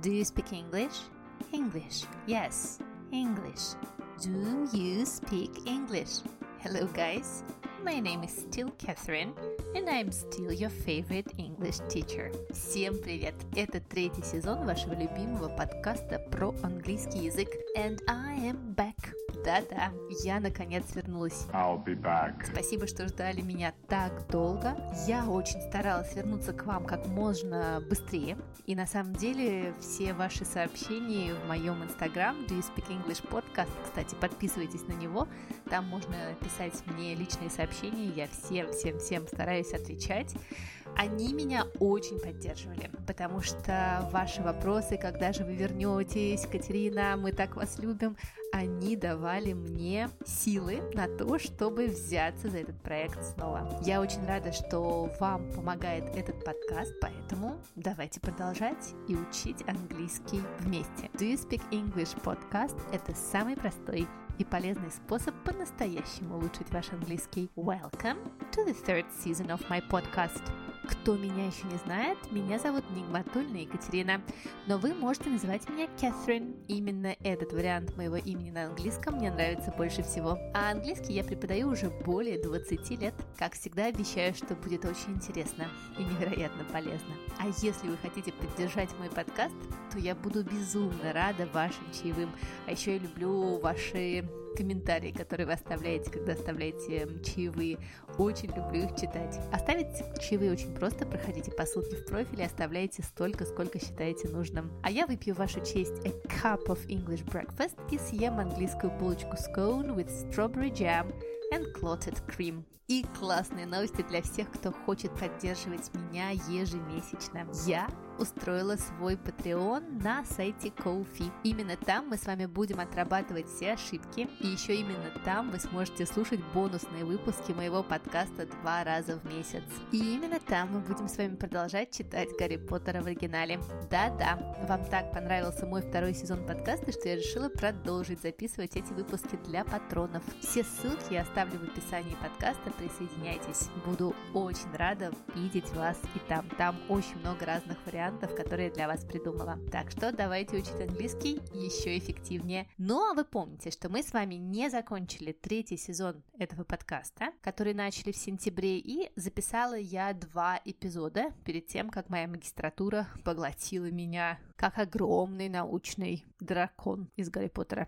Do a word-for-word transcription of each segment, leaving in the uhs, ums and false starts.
Do you speak English? English. Yes, English. Do you speak English? Hello guys, my name is still Catherine, and I'm still your favorite English teacher. Всем привет! Это третий сезон вашего любимого подкаста про английский язык. And I am back. Да-да, я наконец вернулась. I'll be back. Спасибо, что ждали меня так долго. Я очень старалась вернуться к вам как можно быстрее. И на самом деле все ваши сообщения в моем инстаграм Do You Speak English Podcast, кстати, подписывайтесь на него. Там можно писать мне личные сообщения. Я всем-всем-всем стараюсь отвечать. Они меня очень поддерживали, потому что ваши вопросы, когда же вы вернетесь, Катерина, мы так вас любим, они давали мне силы на то, чтобы взяться за этот проект снова. Я очень рада, что вам помогает этот подкаст, поэтому давайте продолжать и учить английский вместе. Do You Speak English Podcast – это самый простой и полезный способ по-настоящему улучшить ваш английский. Welcome to the third season of my podcast. Кто меня еще не знает, меня зовут Нигматульна Екатерина, но вы можете называть меня Catherine. Именно этот вариант моего имени на английском мне нравится больше всего. А английский я преподаю уже более двадцати лет. Как всегда, обещаю, что будет очень интересно и невероятно полезно. А если вы хотите поддержать мой подкаст, то я буду безумно рада вашим чаевым. А еще я люблю ваши комментарии, которые вы оставляете, когда оставляете чаевые. Очень люблю их читать. Оставить чаевые очень просто. Проходите по ссылке в профиле, оставляйте столько, сколько считаете нужным. А я выпью в вашу честь a cup of English breakfast и съем английскую булочку scone with strawberry jam and clotted cream. И классные новости для всех, кто хочет поддерживать меня ежемесячно. Я устроила свой Patreon на сайте Ko-fi. Именно там мы с вами будем отрабатывать все ошибки. И еще именно там вы сможете слушать бонусные выпуски моего подкаста два раза в месяц. И именно там мы будем с вами продолжать читать Гарри Поттера в оригинале. Да-да, вам так понравился мой второй сезон подкаста, что я решила продолжить записывать эти выпуски для патронов. Все ссылки я оставлю в описании подкаста. Присоединяйтесь. Буду очень рада видеть вас и там. Там очень много разных вариантов, которые я для вас придумала. Так что давайте учить английский еще эффективнее. Ну а вы помните, что мы с вами не закончили третий сезон этого подкаста, который начали в сентябре, и записала я два эпизода перед тем, как моя магистратура поглотила меня, как огромный научный дракон из Гарри Поттера.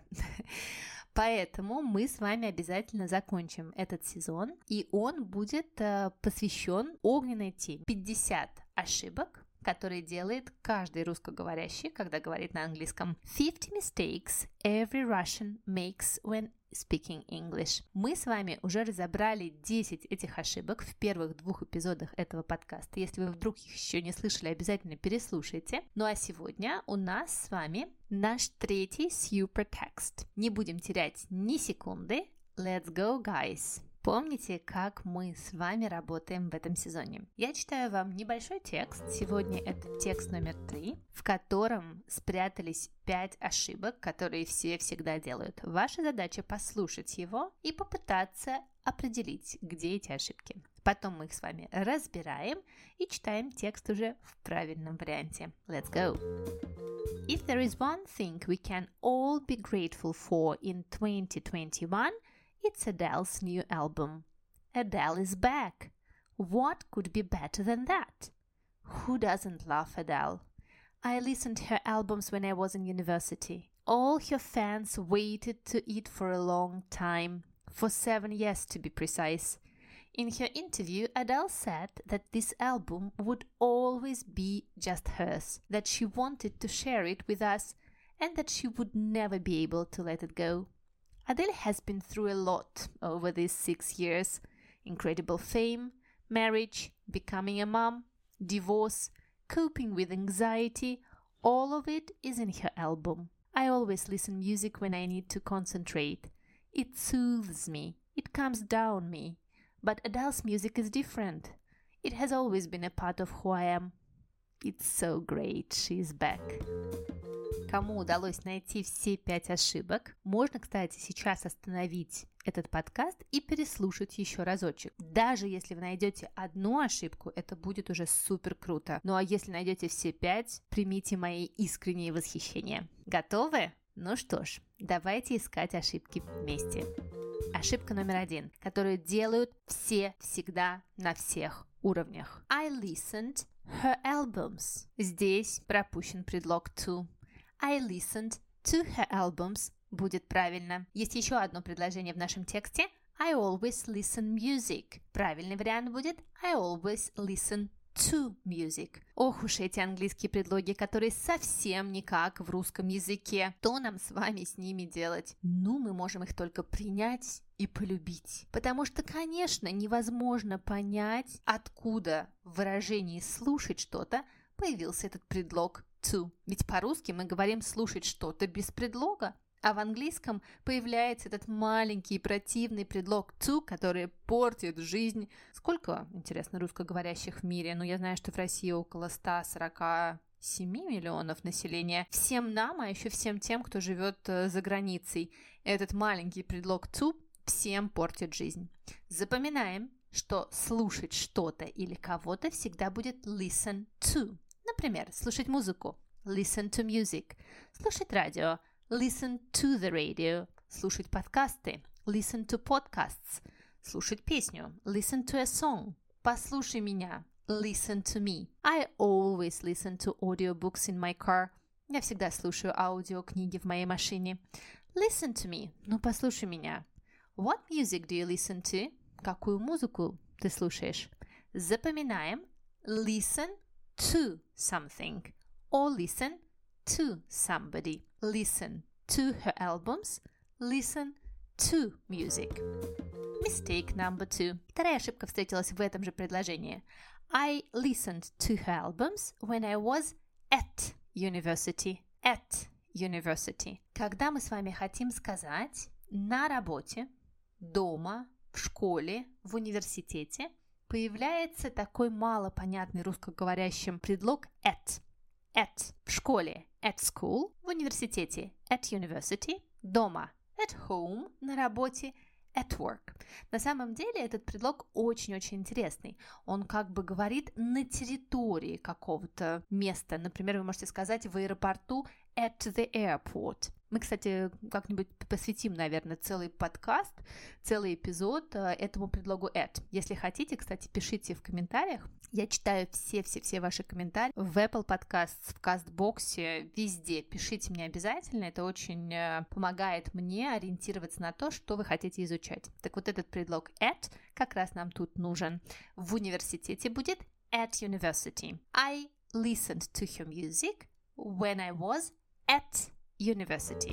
Поэтому мы с вами обязательно закончим этот сезон, и он будет э, посвящен огненной теме. пятьдесят ошибок, которые делает каждый русскоговорящий, когда говорит на английском. fifty mistakes every Russian makes when speaking English. Мы с вами уже разобрали десять этих ошибок в первых двух эпизодах этого подкаста. Если вы вдруг их еще не слышали, обязательно переслушайте. Ну а сегодня у нас с вами наш третий super text. Не будем терять ни секунды. Let's go, guys! Помните, как мы с вами работаем в этом сезоне? Я читаю вам небольшой текст, сегодня это текст номер три, в котором спрятались пять ошибок, которые все всегда делают. Ваша задача послушать его и попытаться определить, где эти ошибки. Потом мы их с вами разбираем и читаем текст уже в правильном варианте. Let's go! If there is one thing we can all be grateful for in twenty twenty-one, it's Adele's new album. Adele is back. What could be better than that? Who doesn't love Adele? I listened to her albums when I was in university. All her fans waited to it for a long time, for seven years to be precise. In her interview, Adele said that this album would always be just hers, that she wanted to share it with us, and that she would never be able to let it go. Adele has been through a lot over these six years. Incredible fame, marriage, becoming a mom, divorce, coping with anxiety, all of it is in her album. I always listen music when I need to concentrate. It soothes me, it calms down me. But Adele's music is different. It has always been a part of who I am. It's so great, she's back. Кому удалось найти все пять ошибок, можно, кстати, сейчас остановить этот подкаст и переслушать еще разочек. Даже если вы найдете одну ошибку, это будет уже супер круто. Ну а если найдете все пять, примите мои искренние восхищения. Готовы? Ну что ж, давайте искать ошибки вместе. Ошибка номер один, которую делают все всегда на всех уровнях. I listened her albums. Здесь пропущен предлог to. I listened to her albums будет правильно. Есть еще одно предложение в нашем тексте. I always listen music. Правильный вариант будет I always listen to music. Ох уж эти английские предлоги, которые совсем никак в русском языке. Что нам с вами с ними делать? Ну, мы можем их только принять и полюбить. Потому что, конечно, невозможно понять, откуда в выражении «слушать что-то» появился этот предлог to. Ведь по-русски мы говорим «слушать что-то» без предлога. А в английском появляется этот маленький противный предлог to, который портит жизнь. Сколько, интересно, русскоговорящих в мире? Ну, я знаю, что в России около сто сорок семь миллионов населения. Всем нам, а еще всем тем, кто живет за границей, этот маленький предлог to всем портит жизнь. Запоминаем, что слушать что-то или кого-то всегда будет listen to. Например, слушать музыку – listen to music. Слушать радио – listen to the radio. Слушать подкасты – listen to podcasts. Слушать песню – listen to a song. Послушай меня – listen to me. I always listen to audiobooks in my car. Я всегда слушаю аудиокниги в моей машине. Listen to me. Ну, послушай меня. What music do you listen to? Какую музыку ты слушаешь? Запоминаем listen to something or listen to somebody. Listen to her albums. Listen to music. Mistake number two. Вторая ошибка встретилась в этом же предложении. I listened to her albums when I was at university. At university. Когда мы с вами хотим сказать на работе, дома, в школе, в университете, появляется такой малопонятный русскоговорящим предлог at. At в школе, at school, в университете, at university, дома, at home, на работе, at work. На самом деле этот предлог очень-очень интересный. Он как бы говорит на территории какого-то места. Например, вы можете сказать в аэропорту at the airport. Мы, кстати, как-нибудь посвятим, наверное, целый подкаст, целый эпизод этому предлогу at. Если хотите, кстати, пишите в комментариях. Я читаю все-все-все ваши комментарии в Apple Podcasts, в Кастбоксе, везде. Пишите мне обязательно, это очень помогает мне ориентироваться на то, что вы хотите изучать. Так вот этот предлог at как раз нам тут нужен. В университете будет at university. I listened to her music when I was at university.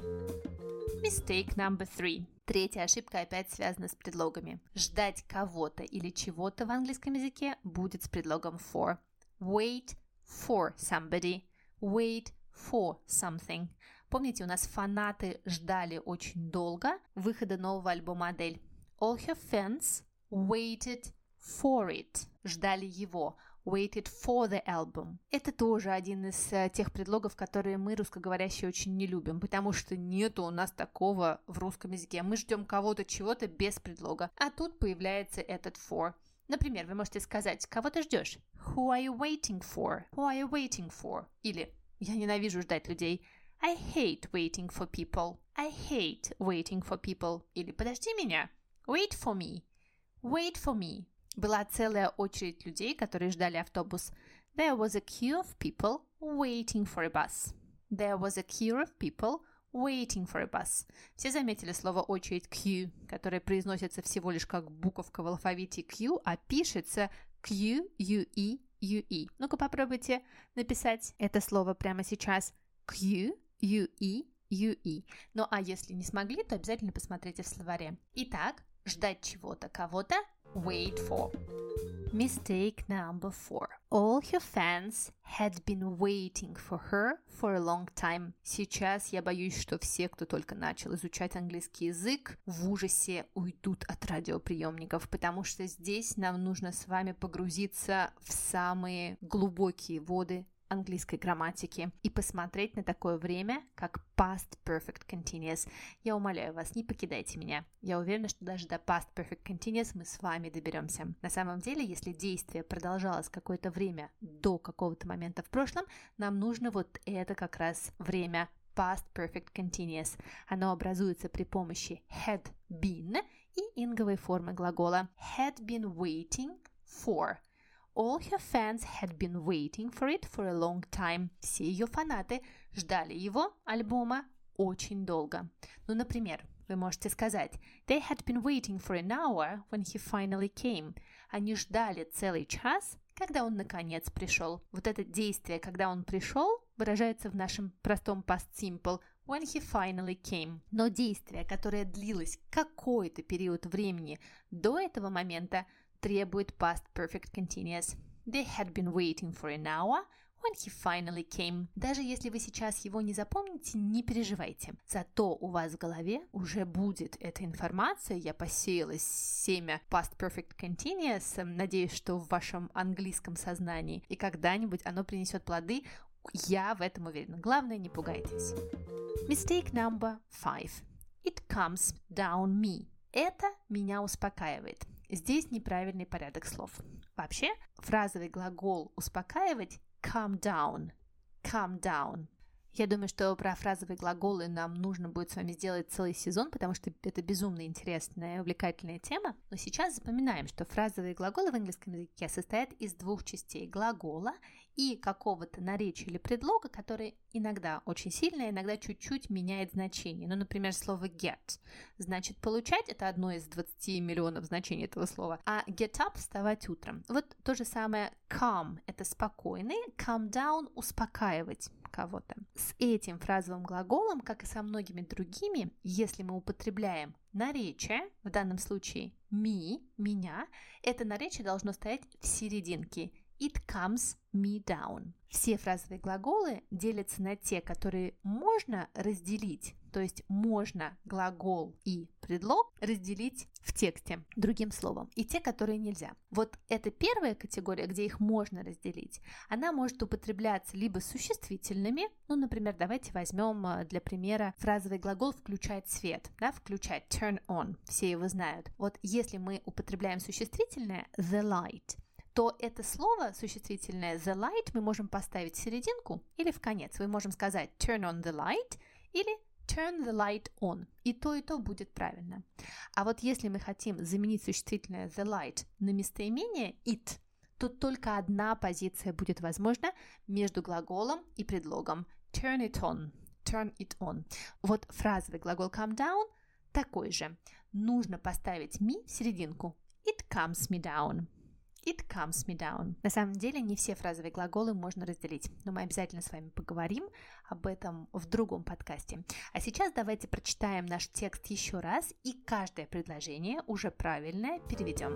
Mistake number three. Третья ошибка опять связана с предлогами. Ждать кого-то или чего-то в английском языке будет с предлогом for. Wait for somebody. Wait for something. Помните, у нас фанаты ждали очень долго выхода нового альбома Адель. All her fans waited for it. Ждали его. Waited for the album. Это тоже один из uh, тех предлогов, которые мы, русскоговорящие, очень не любим, потому что нету у нас такого в русском языке. Мы ждем кого-то, чего-то без предлога. А тут появляется этот for. Например, вы можете сказать, кого ты ждешь? Who are you waiting for? Who are you waiting for? Или я ненавижу ждать людей. I hate waiting for people. I hate waiting for people. Или подожди меня. Wait for me. Wait for me. Была целая очередь людей, которые ждали автобус. There was a queue of people waiting for a bus. There was a queue of people waiting for a bus. Все заметили слово очередь queue, которое произносится всего лишь как буковка в алфавите Q, а пишется Q-U-E-U-E. Ну-ка попробуйте написать это слово прямо сейчас. Q-U-E-U-E. Ну а если не смогли, то обязательно посмотрите в словаре. Итак, ждать чего-то, кого-то. Wait for. Mistake number four. All her fans had been waiting for her for a long time. Сейчас я боюсь, что все, кто только начал изучать английский язык, в ужасе уйдут от радиоприемников, потому что здесь нам нужно с вами погрузиться в самые глубокие воды английской грамматики и посмотреть на такое время, как Past Perfect Continuous. Я умоляю вас, не покидайте меня. Я уверена, что даже до Past Perfect Continuous мы с вами доберемся. На самом деле, если действие продолжалось какое-то время до какого-то момента в прошлом, нам нужно вот это как раз время Past Perfect Continuous. Оно образуется при помощи had been и инговой формы глагола had been waiting for. All her fans had been waiting for it for a long time. Все ее фанаты ждали его, альбома, очень долго. Ну, например, вы можете сказать They had been waiting for an hour when he finally came. Они ждали целый час, когда он наконец пришел. Вот это действие, когда он пришел, выражается в нашем простом past simple when he finally came. Но действие, которое длилось какой-то период времени до этого момента, требует past perfect continuous. They had been waiting for an hour when he finally came. Даже если вы сейчас его не запомните, не переживайте. Зато у вас в голове уже будет эта информация. Я посеяла семя past perfect continuous. Надеюсь, что в вашем английском сознании. И когда-нибудь оно принесет плоды. Я в этом уверена. Главное, не пугайтесь. Mistake number five. It comes down me. Это меня успокаивает. Здесь неправильный порядок слов. Вообще, фразовый глагол «успокаивать» calm down, calm down. Я думаю, что про фразовые глаголы нам нужно будет с вами сделать целый сезон, потому что это безумно интересная и увлекательная тема. Но сейчас запоминаем, что фразовые глаголы в английском языке состоят из двух частей: глагола и какого-то наречия или предлога, который иногда очень сильно, иногда чуть-чуть меняет значение. Ну, например, слово get значит получать, это одно из двадцати миллионов значений этого слова, а get up – вставать утром. Вот то же самое calm – это спокойный, calm down – успокаивать кого-то. С этим фразовым глаголом, как и со многими другими, если мы употребляем наречие, в данном случае me, меня, это наречие должно стоять в серединке. It comes me down. Все фразовые глаголы делятся на те, которые можно разделить, то есть можно глагол и предлог разделить в тексте другим словом, и те, которые нельзя. Вот эта первая категория, где их можно разделить, она может употребляться либо существительными, ну, например, давайте возьмем для примера фразовый глагол «включать свет», да, «включать», turn on, все его знают. Вот если мы употребляем существительное the light, то это слово существительное the light мы можем поставить в серединку или в конец. Мы можем сказать turn on the light или turn the light on. И то, и то будет правильно. А вот если мы хотим заменить существительное the light на местоимение it, то только одна позиция будет возможна между глаголом и предлогом. Turn it on. Turn it on. Вот фразовый глагол come down такой же. Нужно поставить me в серединку. It comes me down. It comes me down. На самом деле не все фразовые глаголы можно разделить, но мы обязательно с вами поговорим об этом в другом подкасте. А сейчас давайте прочитаем наш текст еще раз и каждое предложение уже правильное переведем.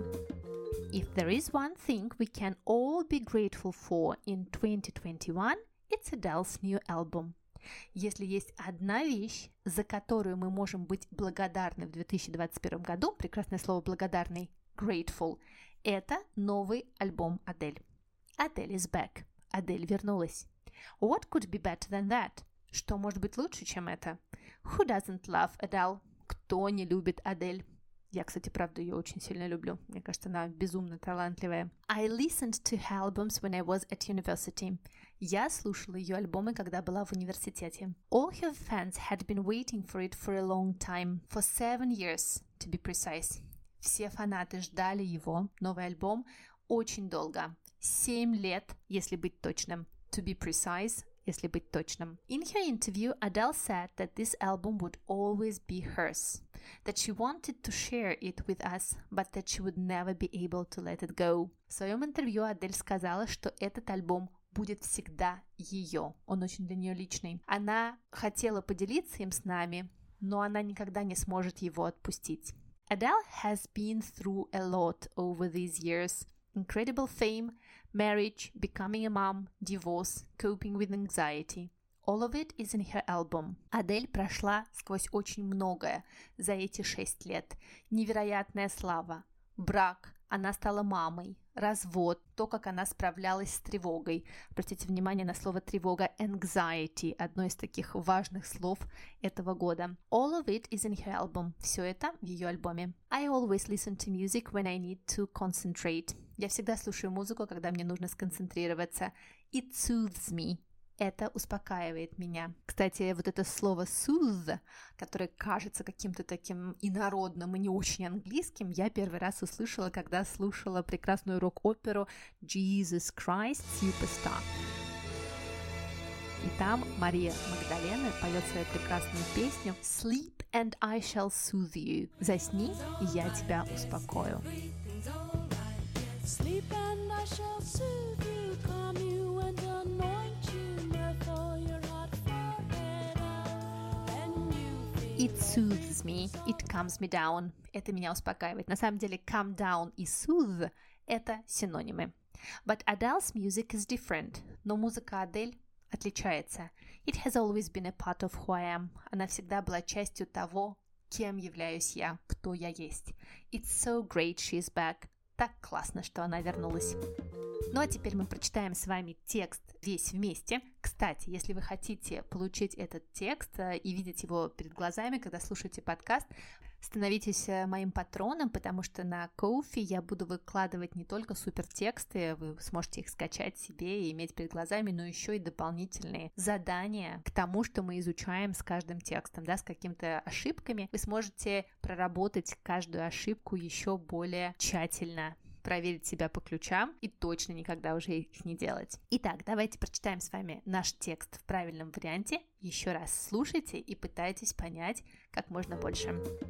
If there is one thing we can all be grateful for in twenty twenty-one, it's Adele's new album. Если есть одна вещь, за которую мы можем быть благодарны в две тысячи двадцать первом году, прекрасное слово «благодарный», grateful, это новый альбом Адель. Adele is back. Адель вернулась. What could be better than that? Что может быть лучше, чем это? Who doesn't love Adele? Кто не любит Адель? Я, кстати, правда, ее очень сильно люблю. Мне кажется, она безумно талантливая. I listened to her albums when I was at university. Я слушала ее альбомы, когда была в университете. All her fans had been waiting for it for a long time. For seven years, to be precise. Все фанаты ждали его, новый альбом, очень долго. Семь лет, если быть точным. To be precise, если быть точным. In her interview, Adele said that this album would always be hers. That she wanted to share it with us, but that she would never be able to let it go. В своем интервью Адель сказала, что этот альбом будет всегда ее. Он очень для нее личный. Она хотела поделиться им с нами, но она никогда не сможет его отпустить. Adele has been through a lot over these years. Incredible fame, marriage, becoming a mom, divorce, coping with anxiety. All of it is in her album. Адель прошла сквозь очень многое за эти шесть лет. Невероятная слава, брак, она стала мамой, развод, то, как она справлялась с тревогой. Обратите внимание на слово тревога, anxiety, одно из таких важных слов этого года. All of it is in her album. Все это в ее альбоме. I always listen to music when I need to concentrate. Я всегда слушаю музыку, когда мне нужно сконцентрироваться. It soothes me. Это успокаивает меня. Кстати, вот это слово soothe, которое кажется каким-то таким инородным и не очень английским, я первый раз услышала, когда слушала прекрасную рок-оперу Jesus Christ Superstar. И там Мария Магдалена поет свою прекрасную песню Sleep and I shall soothe you. Засни, и я тебя успокою. Sleep and I shall soothe you, calm you and anoint you, therefore your hot forehead out, and you feel It soothes me, it calms me down. Это меня успокаивает. На самом деле, calm down и soothe – это синонимы. But Adele's music is different. Но музыка Адель отличается. It has always been a part of who I am. Она всегда была частью того, кем являюсь я, кто я есть. It's so great she's back. Так классно, что она вернулась. Ну а теперь мы прочитаем с вами текст весь вместе. Кстати, если вы хотите получить этот текст и видеть его перед глазами, когда слушаете подкаст, становитесь моим патроном, потому что на Ko-fi я буду выкладывать не только супертексты, вы сможете их скачать себе и иметь перед глазами, но еще и дополнительные задания к тому, что мы изучаем с каждым текстом, да, с какими-то ошибками. Вы сможете проработать каждую ошибку еще более тщательно, проверить себя по ключам и точно никогда уже их не делать. Итак, давайте прочитаем с вами наш текст в правильном варианте. Еще раз слушайте и пытайтесь понять как можно больше.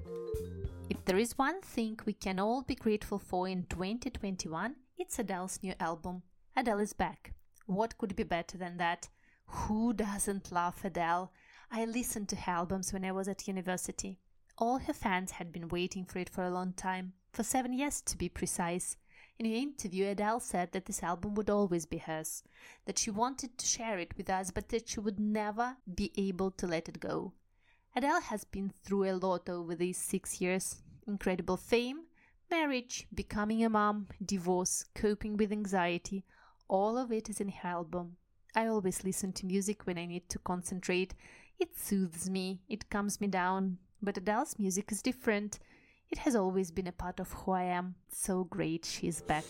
If there is one thing we can all be grateful for in twenty twenty-one, it's Adele's new album. Adele is back. What could be better than that? Who doesn't love Adele? I listened to her albums when I was at university. All her fans had been waiting for it for a long time, for seven years to be precise. In an interview, Adele said that this album would always be hers, that she wanted to share it with us, but that she would never be able to let it go. Adele has been through a lot over these six years. Incredible fame, marriage, becoming a mom, divorce, coping with anxiety. All of it is in her album. I always listen to music when I need to concentrate. It soothes me, it calms me down. But Adele's music is different. It has always been a part of who I am. So great she's back.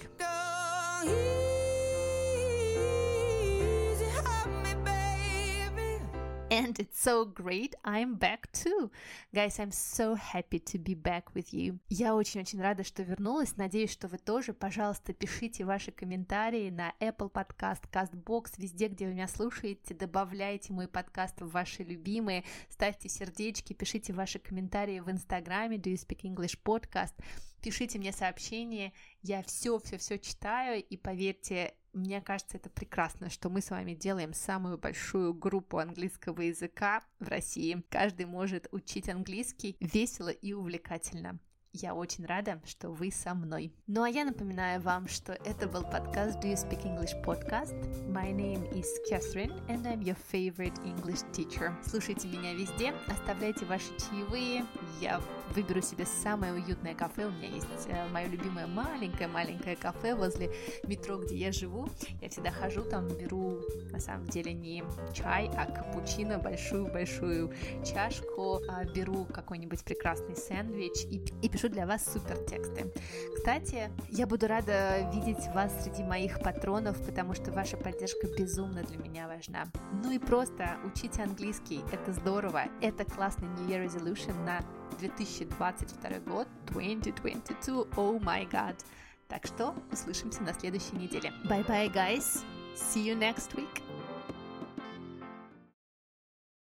And it's so great I'm back too. Guys, I'm so happy to be back with you. Я очень-очень рада, что вернулась. Надеюсь, что вы тоже. Пожалуйста, пишите ваши комментарии на Apple Podcast, CastBox, везде, где вы меня слушаете. Добавляйте мой подкаст в ваши любимые. Ставьте сердечки, пишите ваши комментарии в Инстаграме Do You Speak English Podcast. Пишите мне сообщения. Я все-все-все читаю. И поверьте, мне кажется, это прекрасно, что мы с вами делаем самую большую группу английского языка в России. Каждый может учить английский весело и увлекательно. Я очень рада, что вы со мной. Ну а я напоминаю вам, что это был подкаст Do You Speak English Podcast. My name is Catherine, and I'm your favorite English teacher. Слушайте меня везде, оставляйте ваши чаевые. Я выберу себе самое уютное кафе. У меня есть мое любимое маленькое-маленькое кафе возле метро, где я живу. Я всегда хожу там, беру на самом деле не чай, а капучино, большую-большую чашку, беру какой-нибудь прекрасный сэндвич и, и пишу для вас супер тексты. Кстати, я буду рада видеть вас среди моих патронов, потому что ваша поддержка безумно для меня важна. Ну и просто учите английский, это здорово, это классный New Year Resolution на две тысячи двадцать второй год, twenty twenty-two, oh my god. Так что услышимся на следующей неделе. Bye bye, guys, see you next week.